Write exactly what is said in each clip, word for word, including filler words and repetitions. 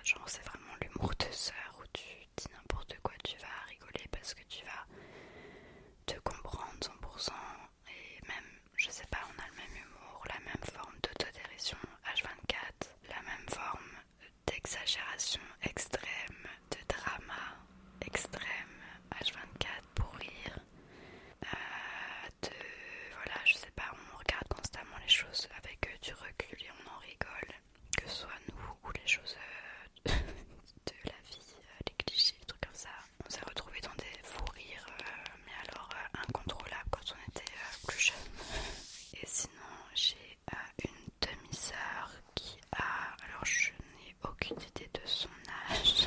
genre c'est vraiment l'humour de sœur où tu dis n'importe quoi, tu vas rigoler parce que tu vas te comprendre cent pour cent et même, je sais pas, on a le même humour, la même forme d'autodérision H vingt-quatre, la même forme d'exagération extrême, de drama extrême H vingt-quatre pour rire, euh, de, voilà, je sais pas, on regarde constamment les choses avec euh, du recul et on en rigole, que ce soit nous ou les choses euh, de la vie, euh, les clichés, les trucs comme ça. On s'est retrouvés dans des fous rires, euh, mais alors euh, incontrôlables quand on était euh, plus jeune. Et sinon, j'ai euh, une demi-sœur qui a, alors je n'ai aucune idée de son âge.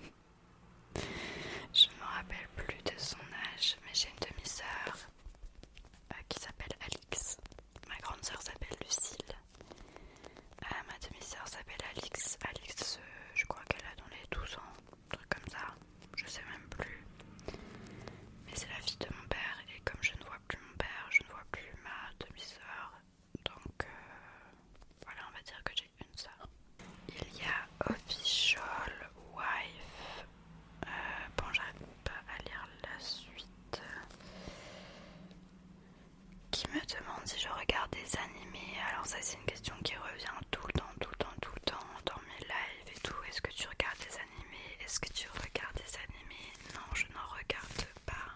Je me rappelle plus de son âge, mais j'ai une demi-sœur euh, qui s'appelle Alix. Ma grande sœur s'appelle Lucille. Euh, ma demi-sœur s'appelle Alix. Alix, euh, je crois qu'elle a dans les douze ans, un truc comme ça. Je sais même plus. Mais c'est la fille de mon père, et comme je ne vois plus mon père, je ne vois plus ma demi-sœur. Donc euh, voilà, on va dire que j'ai une sœur. Il y a Official Wife. Euh, bon, j'arrive pas à lire la suite. Qui me demande si je regarde des animés. Alors ça c'est une question qui revient tout le temps, tout le temps, tout le temps dans mes lives et tout. Est-ce que tu regardes des animés? Est-ce que tu regardes des animés? Non, je n'en regarde pas.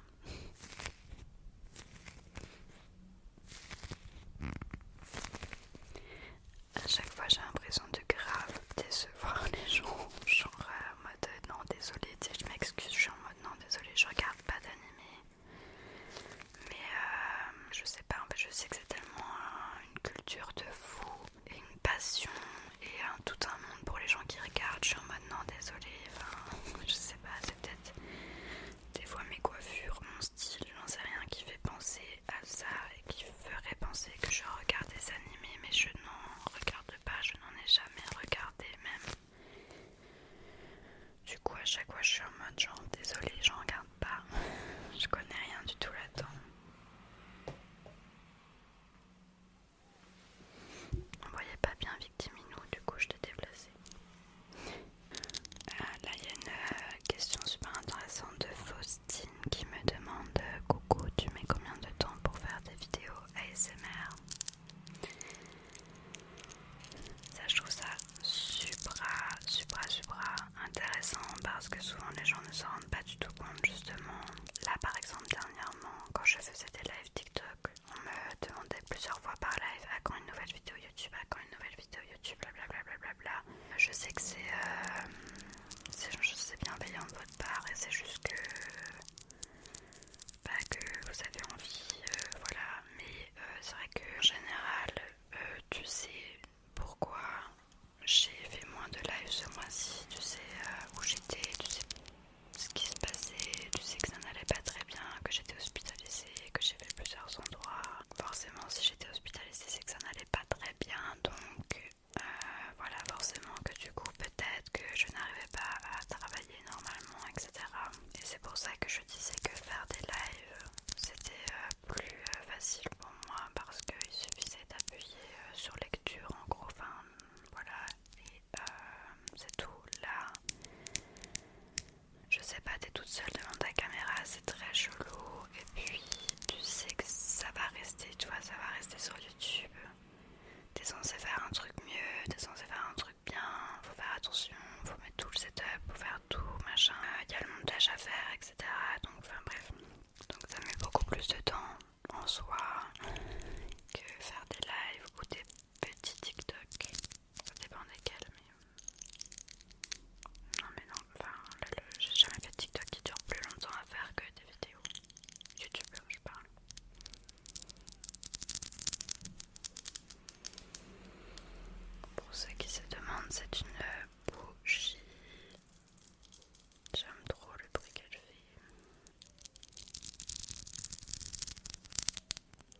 À chaque fois j'ai l'impression de grave décevoir les gens. Genre euh, en mode euh, non désolé, tu sais, je m'excuse, je suis en mode non désolé, je regarde pas d'animé. Mais euh, je sais pas, en fait je sais que c'est tellement euh, une culture de fou et une passion et un, tout un monde pour les gens qui regardent. Je suis en mode non désolé, enfin je sais pas, c'est peut-être des fois mes coiffures, mon style, j'en sais rien qui fait penser à ça et qui ferait penser que je regarde des animés, mais je n'en regarde pas, je n'en ai jamais regardé même. Du coup à chaque fois je suis en mode genre désolé, j'en regarde pas, je connais rien du tout là-dedans. On voyait pas bien Victiminou, du coup je t'ai déplacé. Euh, là il y a une euh, question super intéressante de Faustine qui me demande euh, coucou, tu mets combien de temps pour faire des vidéos A S M R? Ça je trouve ça supra, supra, supra intéressant parce que souvent les gens ne s'en rendent pas du tout compte justement. Là par exemple dernièrement quand je faisais des lives TikTok, on me demandait plusieurs fois par live à quand une nouvelle vidéo YouTube, à quand une nouvelle vidéo YouTube, blablabla. Bla bla bla. Je sais que c'est euh, c'est c'est bienveillant de votre part et c'est juste que bah, que vous avez envie, euh, voilà. Mais euh, c'est vrai que en général, euh, tu sais pourquoi j'ai fait moins de live ce mois-ci, tu sais euh, où j'étais, tu sais ce qui se passait, tu sais que ça n'allait pas très bien, que j'étais hospitalisée, que j'ai fait plusieurs endroits. Forcément, si j'étais hospitalisée, c'est que ça n'allait pas très bien, donc euh, voilà, forcément que du coup, peut-être que je n'arrivais pas à travailler normalement, et cetera. Et c'est pour ça que je disais que faire des lives, c'était euh, plus euh, facile pour moi parce qu'il suffisait d'appuyer euh, sur lecture en gros, enfin voilà, et euh, c'est tout. Là, je sais pas, t'es toute seule devant ta caméra, c'est très chelou. Et puis, tu sais que ça va rester, tu vois, ça va rester sur YouTube. T'es censé faire un truc mieux, t'es censé faire un truc bien, faut faire attention, faut mettre tout le setup, faut faire tout, machin. Il y a le montage à faire, et cetera. Donc, enfin bref. Donc ça met beaucoup plus de temps en soi que faire des lives ou des petits TikTok. Ça dépend desquels, mais... Non mais non, enfin, le, le, j'ai jamais fait de TikTok qui dure plus longtemps à faire que des vidéos. YouTube, je parle. Pour ceux qui se demandent, c'est une bougie. J'aime trop le bruit qu'elle fait.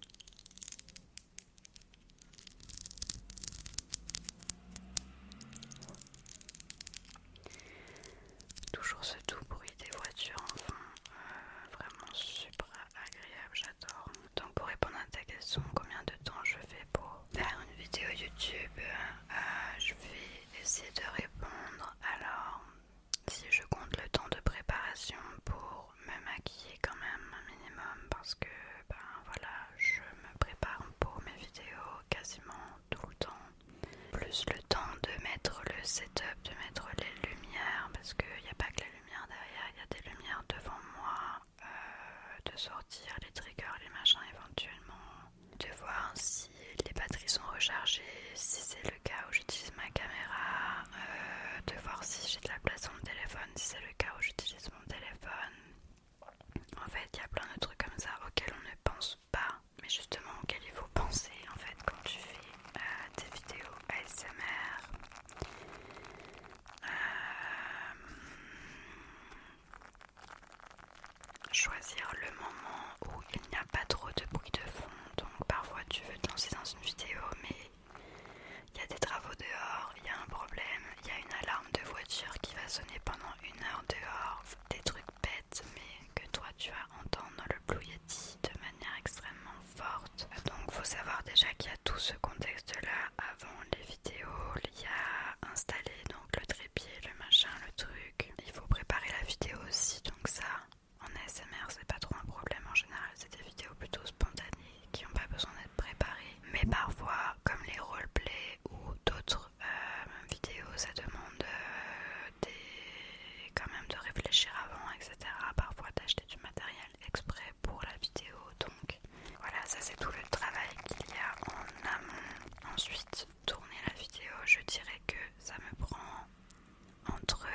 choisir le moment où il n'y a pas trop de bruit de fond. Donc parfois tu veux te lancer dans une vidéo mais il y a des travaux dehors, il y a un problème, il y a une alarme de voiture qui va sonner pendant une heure dehors, des trucs bêtes mais que toi tu vas entendre dans le Blue Yeti de manière extrêmement forte. Donc faut savoir déjà qu'il y a tout ce contexte là avant les vidéos, il y a installé donc le trépied, le machin, le truc. Il faut préparer la vidéo aussi, donc ça en A S M R c'est pas trop un problème en général, c'est des vidéos plutôt spontanées qui n'ont pas besoin d'être préparées. Mais parfois, comme les roleplays ou d'autres euh, vidéos, ça demande euh, des... quand même de réfléchir avant, et cetera. Parfois d'acheter du matériel exprès pour la vidéo, donc voilà, ça c'est tout le travail qu'il y a en amont. Ensuite, tourner la vidéo, je dirais que ça me prend entre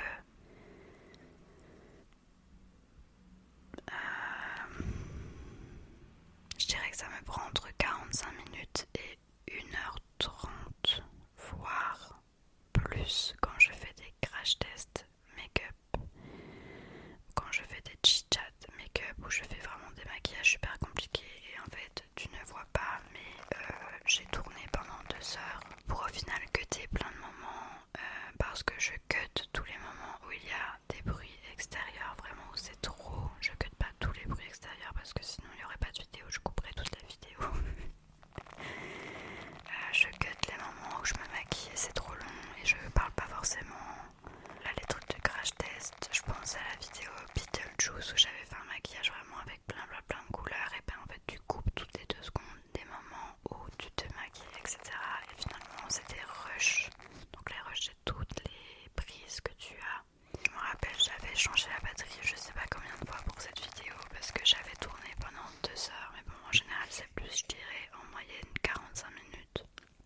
euh, je dirais que ça me prend entre quarante-cinq minutes et une heure trente, voire plus quand je fais des crash tests make-up, quand je fais des chit-chats make-up où je fais vraiment des maquillages super compliqués et en fait tu ne vois pas mais euh, j'ai tourné pendant deux heures pour au final cutter plein de moments euh, parce que je cut tous les moments où il y a des bruits extérieurs, vraiment où c'est trop, je cut pas tous les bruits extérieurs parce que sinon il n'y aurait pas de vidéo, je couperais toute la vidéo. euh, je cut les moments où je me maquille et c'est trop long et je parle pas forcément. Là les trucs de crash test, je pense à la vidéo Beetlejuice où j'avais fait un maquillage vraiment avec plein plein plein de couleurs et ben en fait tu coupes toutes les deux secondes des moments où tu te maquilles, et cetera. Et finalement c'est des rushs, donc les rushs c'est toutes les prises que tu as. Je me rappelle, j'avais changé la batterie je sais pas combien de fois pour cette vidéo parce que j'avais tourné pendant deux heures, mais bon en général c'est plus, je dirais en moyenne quarante-cinq minutes.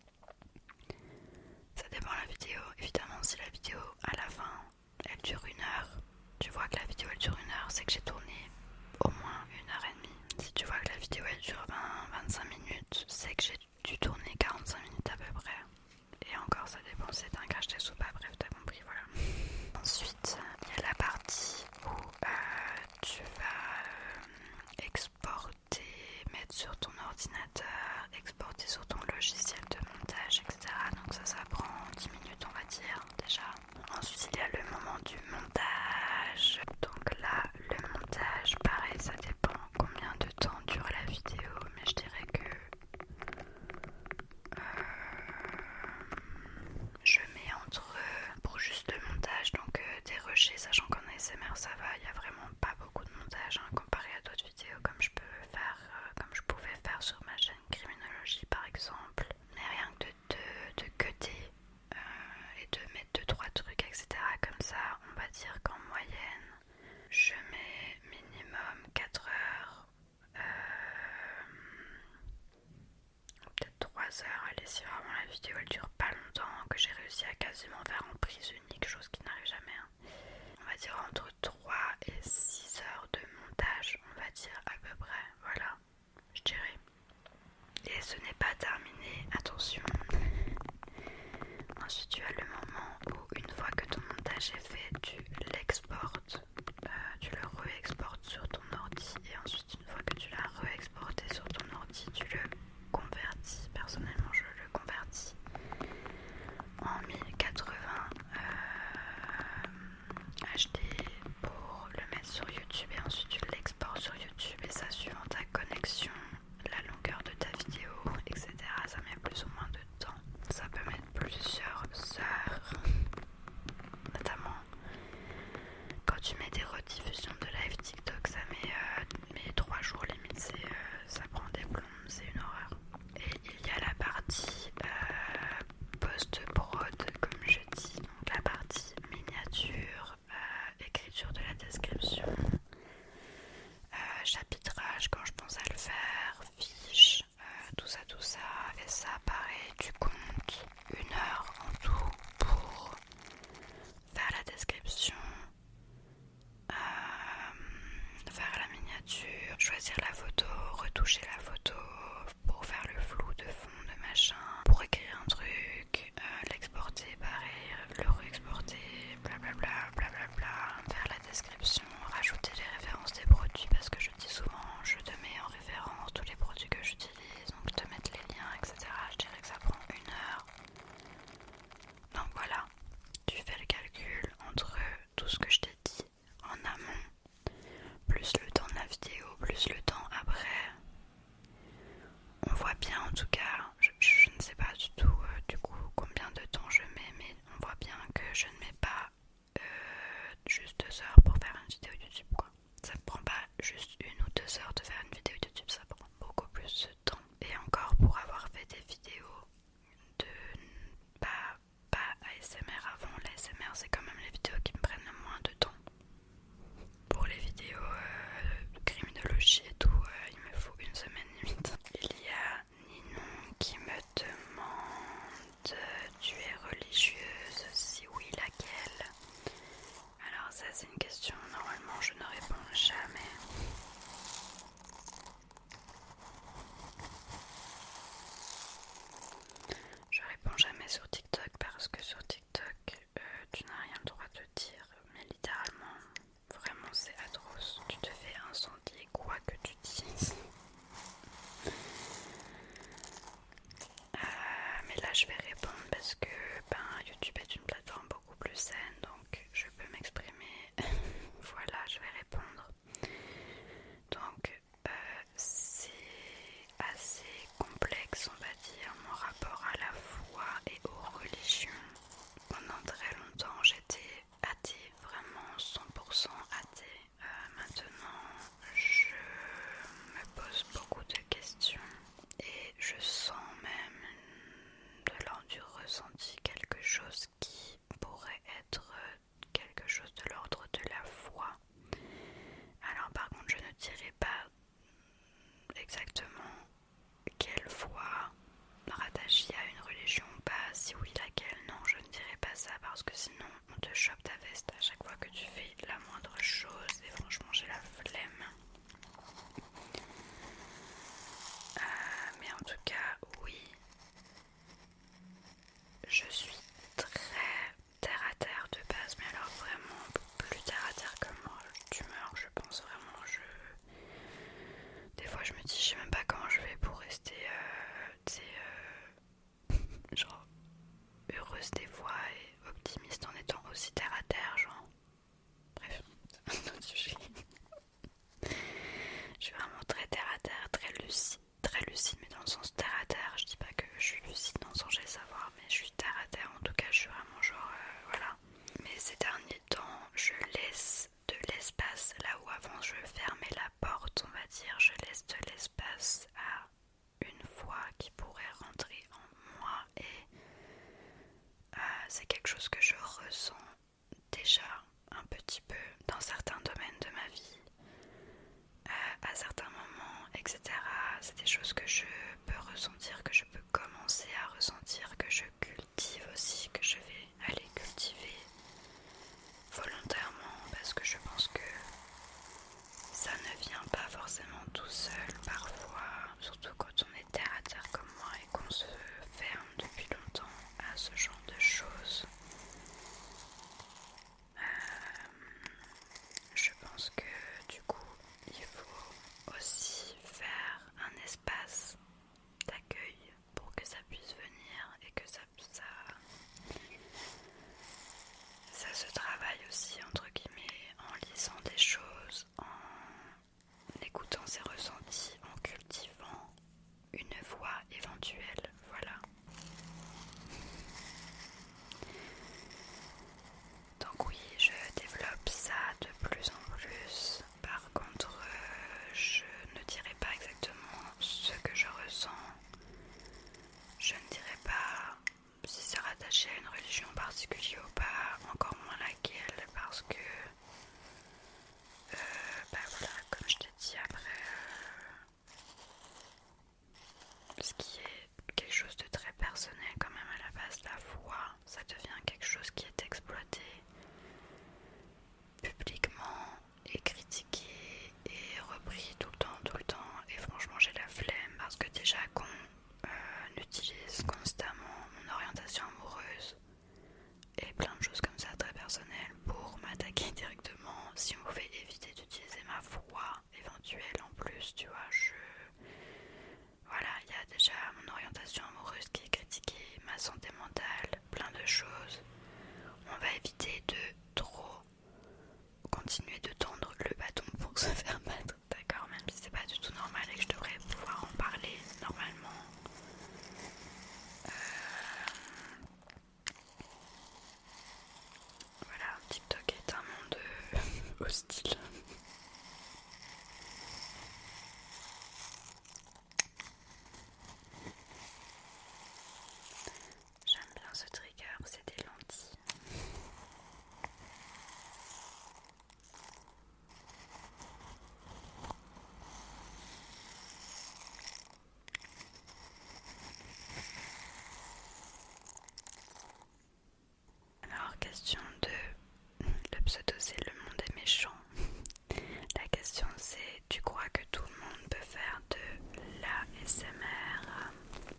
Ça dépend de la vidéo, évidemment si la vidéo à la fin elle dure une heure, tu vois que la vidéo elle dure une heure, c'est que j'ai tourné au moins une heure et demie. Si tu vois que la vidéo elle dure vingt à vingt-cinq minutes, c'est que j'ai dû tourner quarante-cinq minutes à peu près. Et encore ça dépend si c'est un crash test ou pas, bref t'as compris, voilà. Ensuite il y a la partie où euh, tu vas euh, exporter, mettre sur ton ordinateur, exporter sur ton logiciel de montage, et cetera. Donc ça, ça prend dix minutes on va dire déjà. Ensuite il y a le moment du montage. Donc là le montage, pareil ça dépend combien de temps dure la vidéo, mais je dirais que euh, je mets entre, pour juste le montage, donc euh, des rushés, sachant qu'en A S M R ça va, il n'y a vraiment pas beaucoup de montage hein, comparé à d'autres vidéos comme je peux faire, euh, comme je pouvais faire sur ma chaîne Criminologie par exemple. Mais rien que de, de, de cutter euh, et de mettre deux trois trucs, et cetera. Comme ça, on va dire qu'en moyenne, je mets minimum quatre heures. Euh, peut-être trois heures, allez si vraiment la vidéo elle dure pas longtemps, que j'ai réussi à quasiment faire en prise unique, chose qui n'arrive jamais hein. On va dire entre trois et six heures de montage, on va dire à peu près, voilà, je dirais. Et ce n'est pas terminé, attention. Ensuite tu as le moment où une fois que ton montage est fait, tu l'exportes, euh, tu le re-exportes sur ton ordi et ensuite une fois que tu l'as re-exporté sur ton ordi, tu le convertis. Personnellement je le convertis en mille quatre-vingts que sinon on te chope ta veste à chaque fois que tu fais la moindre chose et franchement j'ai la flemme. Euh, mais en tout cas oui, je suis très terre à terre de base, mais alors vraiment plus terre à terre que moi, d'humeur je pense vraiment. Je... Des fois je me dis je sais même pas comment je vais pour rester euh, tu sais, euh, genre heureuse des fois et optimiste en étant aussi terre à terre, genre bref, c'est un autre sujet. Je suis vraiment très terre à terre, très lucide, très lucide mais dans le sens terre à terre. Je dis pas que je suis lucide dans le sens j'ai le savoir, mais je suis terre à terre, en tout cas je suis vraiment genre euh, voilà. Mais ces derniers temps je laisse de l'espace là où avant je fermais la porte, on va dire, je laisse de l'espace à une voix qui pourrait rentrer en moi et euh, c'est quelque chose que je ressens déjà un petit peu dans certains domaines de ma vie, euh, à certains moments, et cetera. C'est des choses que je peux ressentir, que je peux commencer à ressentir, que je cultive aussi, que je vais aller cultiver volontairement parce que je pense que ça ne vient pas forcément tout seul parfois, surtout quand on est terre à terre comme moi et qu'on se ferme depuis longtemps à ce genre de choses. Euh, je pense que du coup il faut aussi faire un espace d'accueil pour que ça puisse venir et que ça, ça, ça se travaille aussi entre guillemets en lisant des choses, en écoutant ses ressentis, en cultivant une voix éventuelle, voilà. Donc oui, je développe ça de plus en plus. Par contre, euh, je ne dirai pas exactement ce que je ressens. Je ne dirai pas si c'est rattaché à une religion particulière ou pas, encore moins laquelle, parce que euh, bah voilà, comme je t'ai dit après, euh, ce qui est quelque chose de très personnel quand même à la base, la foi, ça devient quelque chose qui est exploité publiquement et critiqué et repris tout le temps, tout le temps, et franchement j'ai la flemme parce que déjà qu'on euh, utilise constamment mon orientation amoureuse et plein de choses comme ça très personnelles pour m'attaquer directement. Si on pouvait éviter d'utiliser ma foi éventuelle en plus, tu vois, je... Voilà, il y a déjà mon orientation amoureuse qui est critiquée, ma santé mentale, plein de choses. On va éviter de trop continuer de tendre le bâton pour se faire battre, d'accord, même si c'est pas du tout normal et que je devrais pouvoir en parler normalement. Euh... Voilà, TikTok est un monde euh, hostile. J'aime bien ce trigger, c'est des lentilles. Alors, question deux. Le pseudo c'est le monde est méchant. La question c'est, tu crois que tout le monde peut faire de l'A S M R?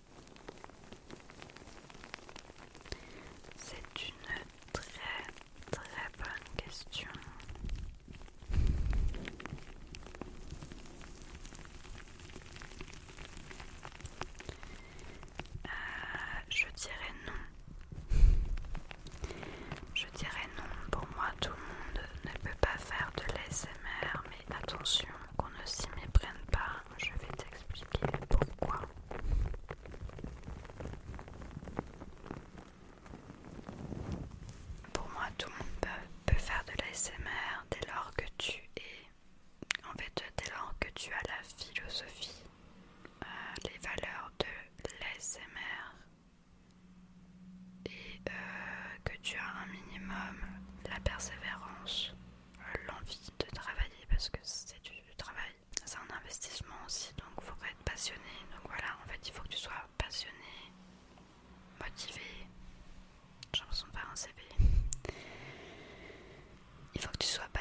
C'est une très très bonne question. Euh, je dirais non. Je dirais non. Pour moi, tout le monde ne peut pas faire de l'A S M R, mais attention qu'on ne s'y méprenne pas. Je vais t'expliquer pourquoi. Pour moi, tout le monde peut, peut faire de l'A S M R dès lors que tu es, en fait, dès lors que tu as la philosophie, euh, les valeurs de l'A S M R et euh, que tu as un minimum la persévérance, euh, l'envie de travailler parce que c'est du travail, c'est un investissement aussi, donc il faut être passionné. Donc voilà, en fait il faut que tu sois passionné, motivé. J'ai l'impression de faire un C V.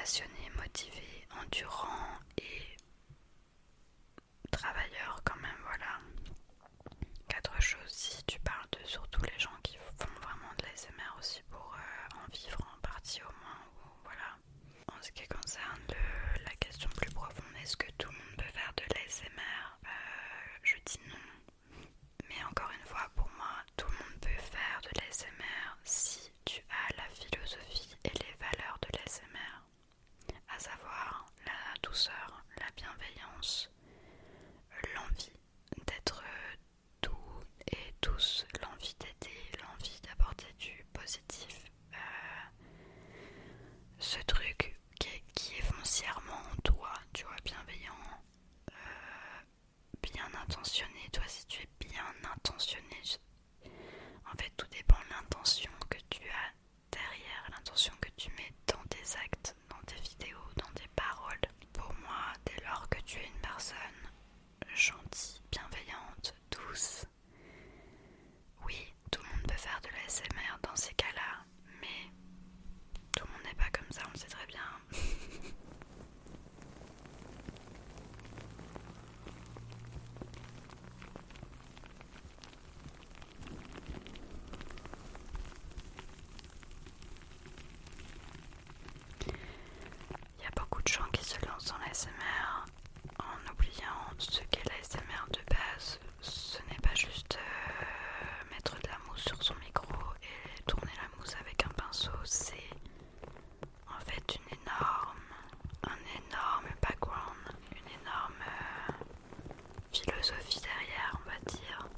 passionné, motivé, endurant et travailleur quand même, voilà. Quatre choses, si tu parles de surtout les gens qui font vraiment de l'A S M R aussi pour euh, en vivre en partie au moins, ou, voilà. En ce qui concerne le, la question plus profonde, est-ce que tout le monde peut faire de l'A S M R? euh, Je dis non. Mais encore une fois, pour moi, tout le monde peut faire de l'A S M R si tu as la philosophie et les valeurs de l'A S M R, à savoir la douceur, la bienveillance, l'envie d'être doux et douce, l'envie d'aider, l'envie d'apporter du positif. Euh, ce truc qui est, qui est foncièrement en toi, tu vois, bienveillant, euh, bien intentionné. Toi, si tu es bien intentionné, en fait, tout dépend de l'intention que tu as derrière, l'intention que tu mets dans tes actes, dans tes vidéos, dans tes paroles. Pour moi, dès lors que tu es une personne gentille, bienveillante, douce, oui, tout le monde peut faire de l'A S M R dans ces cas-là, mais tout le monde n'est pas comme ça, on le sait très bien. Il y a beaucoup de gens qui se lancent dans l'A S M R en oubliant ce qu'est l'A S M R de base. Ce n'est pas juste euh, mettre de la mousse sur son micro et tourner la mousse avec un pinceau, c'est en fait une énorme, un énorme background, une énorme euh, philosophie derrière, on va dire.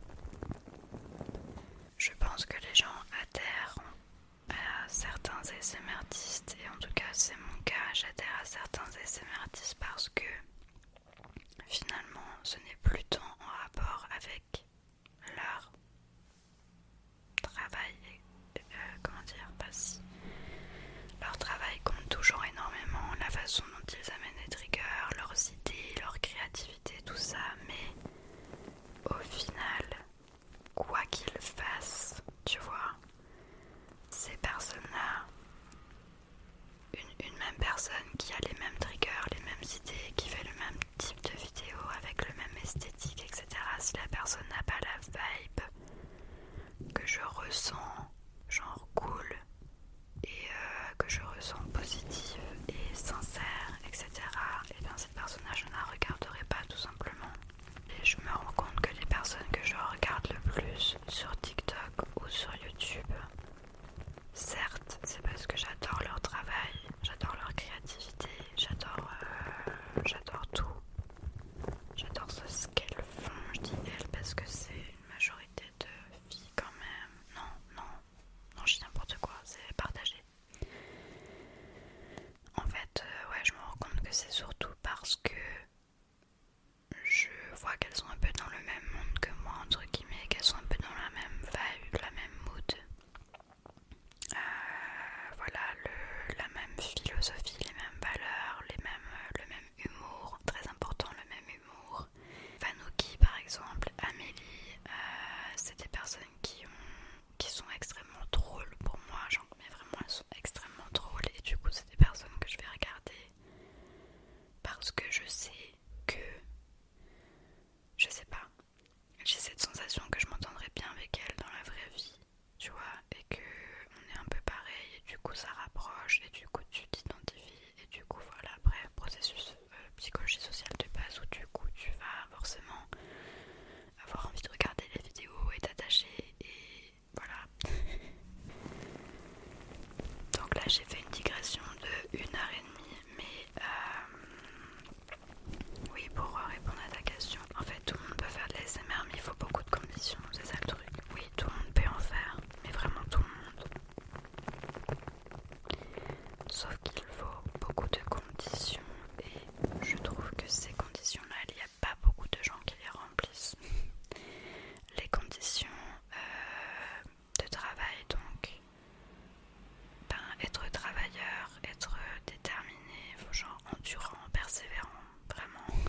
Je pense que les gens adhèrent à certains A S M R artistes, et en tout cas c'est mon cas, j'adhère à certains A S M R artistes parce que finalement ce n'est plus tant en rapport avec leur travail, euh, comment dire, pas si. Leur travail compte toujours énormément, la façon dont ils amènent les triggers, leurs idées, leur créativité, tout ça, mais au final, quoi qu'ils fassent, tu vois, ces personnes-là, une, une même personne qui a les mêmes triggers, les mêmes idées, qui fait le même type de vidéo avec le même esthétique, et cetera, si la personne n'a pas la vibe que je ressens, genre cool, et euh, que je ressens positive et sincère, et cetera, et bien cette personne-là, je ne la regarderai pas tout simplement. Et je me rends compte que les personnes que je regarde le plus sur TikTok ou sur YouTube, certes, c'est parce que j'adore leur travail, j'adore leur créativité, j'adore euh, j'adore tout. J'adore ce qu'elles font, je dis elles parce que c'est une majorité de filles quand même. Non, non, non, je dis n'importe quoi, c'est partagé. En fait, euh, ouais, je me rends compte que c'est surtout parce que je vois qu'elles sont un peu dans le même monde que moi, entre guillemets, qu'elles sont un peu dans la même vibe, la même mood. Euh, voilà, le, la même philosophie, les mêmes valeurs, les mêmes, le même humour, très important, le même humour. Vanouki par exemple, Amélie, euh, c'est des personnes qui, ont, qui sont extrêmement drôles pour moi, genre, mais vraiment elles sont extrêmement drôles, et du coup c'est des personnes que je vais regarder parce que je sais que, je sais pas, j'ai cette sensation que je m'entendrais bien avec elles dans la vraie vie, tu vois, et que on est un peu pareil, et du coup ça rapproche, et du coup tu t'identifies, et du coup voilà, bref, processus euh, psychologie sociale de base où du coup tu vas forcément avoir envie de regarder les vidéos et t'attacher, et voilà. Donc là j'ai fait une digression de une heure et demie, mais euh, oui, pour répondre à ta question, en fait tout le monde peut faire de l'A S M R, mais il faut beaucoup de conditions, c'est ça le truc. Oui, tout le monde peut en faire, mais vraiment tout le monde. Sauf qu'il faut beaucoup de conditions, et je trouve que ces conditions-là, il n'y a pas beaucoup de gens qui les remplissent. Les conditions euh, de travail, donc, ben, être travailleur, être déterminé, genre endurant, persévérant, vraiment.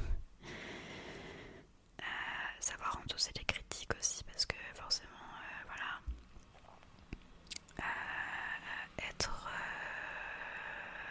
Euh, savoir endosser les critiques aussi, parce que forcément, euh, voilà. Euh, être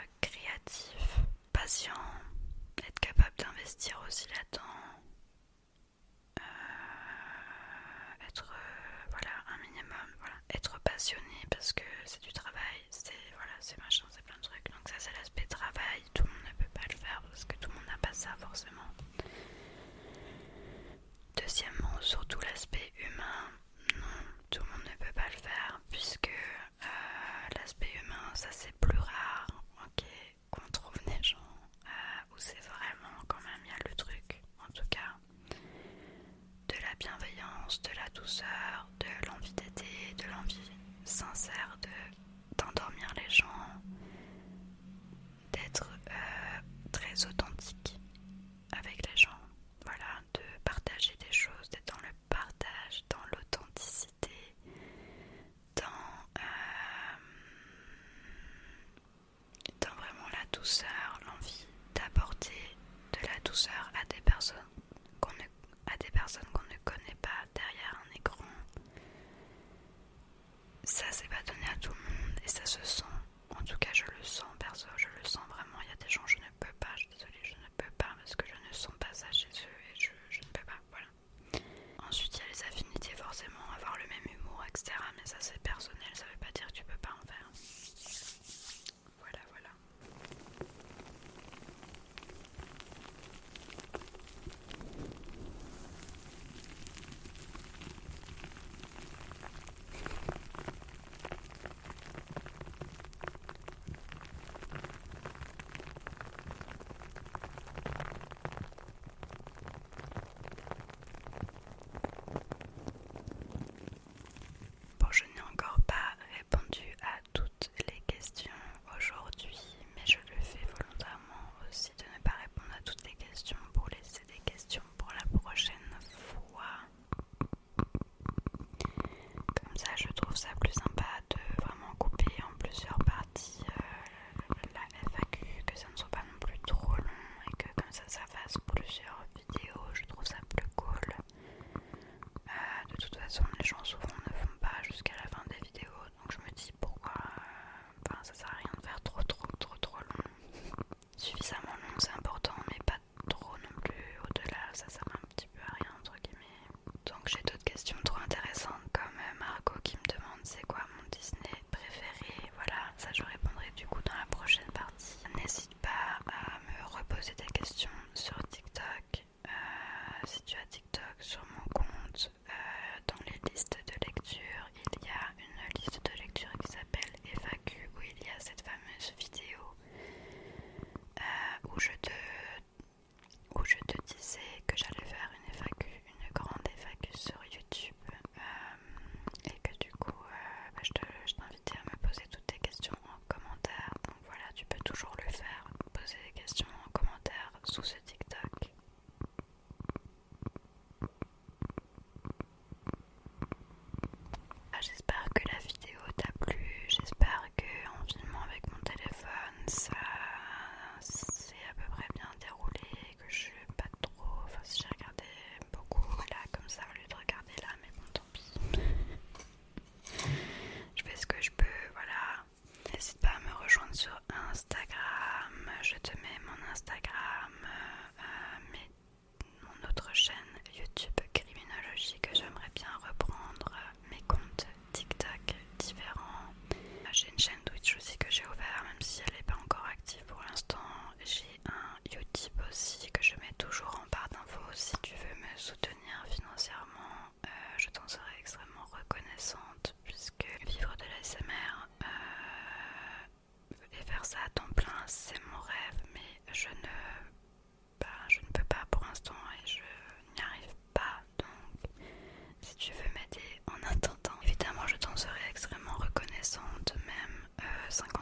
douceur, l'envie d'apporter de la douceur à des personnes qu'on ne, à des personnes qu'on ne connaît pas derrière un écran. Ça c'est pas donné à tout le monde et ça se sent. En tout cas je le sens perso, je le sens vraiment. Il y a des gens je ne peux pas, je suis désolée, je ne peux pas parce que je ne sens pas ça chez eux et je, je ne peux pas, voilà. Ensuite il y a les affinités, forcément, avoir le même humour, et cetera. Mais ça c'est personnel, ça veut pas dire que tu peux pas en faire. Voilà, voilà. Bon, je n'ai encore pas répondu à toutes les questions aujourd'hui, mais je le fais volontairement aussi de ne pas répondre à toutes les questions pour laisser des questions pour la prochaine fois. Comme ça, je trouve ça plus sympa de vraiment couper en plusieurs parties euh, la F A Q, que ça ne soit pas non plus trop long et que comme ça, ça fasse plusieurs vidéos. Je trouve ça plus cool. Euh, de toute façon, les gens souvent ne font pas jusqu'à la fin des vidéos, donc je me dis pourquoi. Euh, enfin, ça sert à rien de faire trop, trop, trop, trop long. Suffisamment long, c'est important, mais pas trop non plus. Au-delà, ça sert un petit peu à rien, entre guillemets. Donc j'ai d'autres questions trop intéressantes, comme euh, Margot qui me demande c'est quoi mon Disney préféré. Voilà, ça je répondrai du coup dans la prochaine partie. N'hésite pas à me reposer des questions sur TikTok. Euh, si tu as TikTok, sur mon compte, euh, dans les listes de lecture, il y a une liste de lecture qui s'appelle F A Q, où il y a cette fameuse vidéo euh, où je te où je te disais que j'allais faire une F A Q, une grande F A Q sur YouTube, euh, et que du coup euh, bah, je, te, je t'invitais à me poser toutes tes questions en commentaire. Donc voilà, tu peux toujours le faire, poser des questions en commentaire sous ce TikTok. Ah, j'espère que la vidéo t'a plu, j'espère que en filmant avec mon téléphone ça s'est à peu près bien déroulé, que je suis pas trop, enfin si j'ai regardé beaucoup là comme ça au lieu de regarder là, mais bon tant pis. Je fais ce que je peux, voilà. N'hésite pas à me rejoindre sur Instagram, je te mets mon Instagram, euh, mais mon autre chaîne YouTube Criminologie que j'aimerais bien reprendre, mes comptes TikTok différents. J'ai une chaîne Twitch aussi que j'ai ouvert, même si elle n'est pas encore active pour l'instant. J'ai un Utip aussi que je mets toujours en barre d'infos. Si tu veux me soutenir financièrement, euh, je t'en serai extrêmement reconnaissante, puisque vivre de l'A S M R euh, et faire ça à temps plein, c'est mon rêve, mais je ne, bah, je ne peux pas pour l'instant et je n'y arrive pas. Donc si tu veux m'aider en attendant, évidemment je t'en serai extrêmement reconnaissante, même euh, cinquante